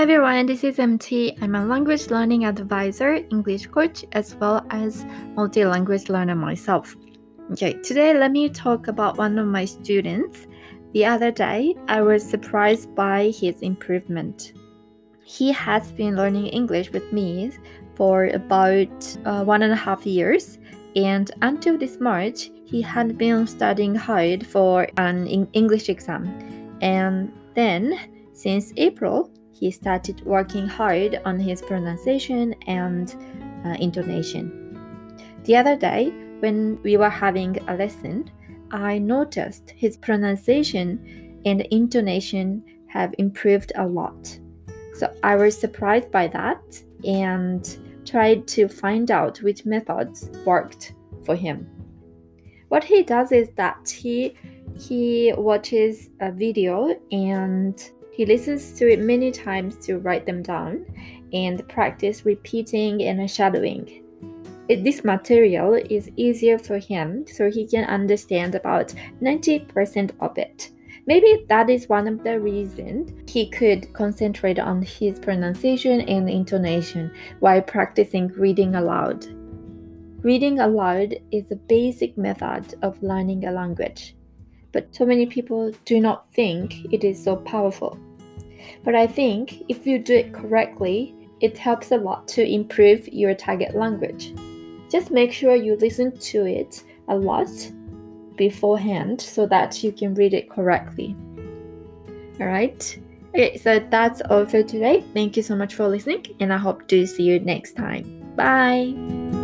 everyone, this is MT. I'm a language learning advisor, English coach, as well as multi-language learner myself. Okay, today let me talk about one of my students. The other day, I was surprised by his improvement. He has been learning English with me for about 1.5 years, and until this March, he had been studying hard for an English exam. And then, since April, he started working hard on his pronunciation and intonation. The other day, when we were having a lesson, I noticed his pronunciation and intonation have improved a lot. So I was surprised by that and tried to find out which methods worked for him. What he does is that he watches a video and he listens to it many times to write them down and practice repeating and shadowing. This material is easier for him, so he can understand about 90% of it. Maybe that is one of the reasons he could concentrate on his pronunciation and intonation while practicing reading aloud. Reading aloud is a basic method of learning a language, but so many people do not think it is so powerful. But I think if you do it correctly, it helps a lot to improve your target language. Just make sure you listen to it a lot beforehand so that you can read it correctly. Alright? Okay, so that's all for today. Thank you so much for listening, and I hope to see you next time. Bye!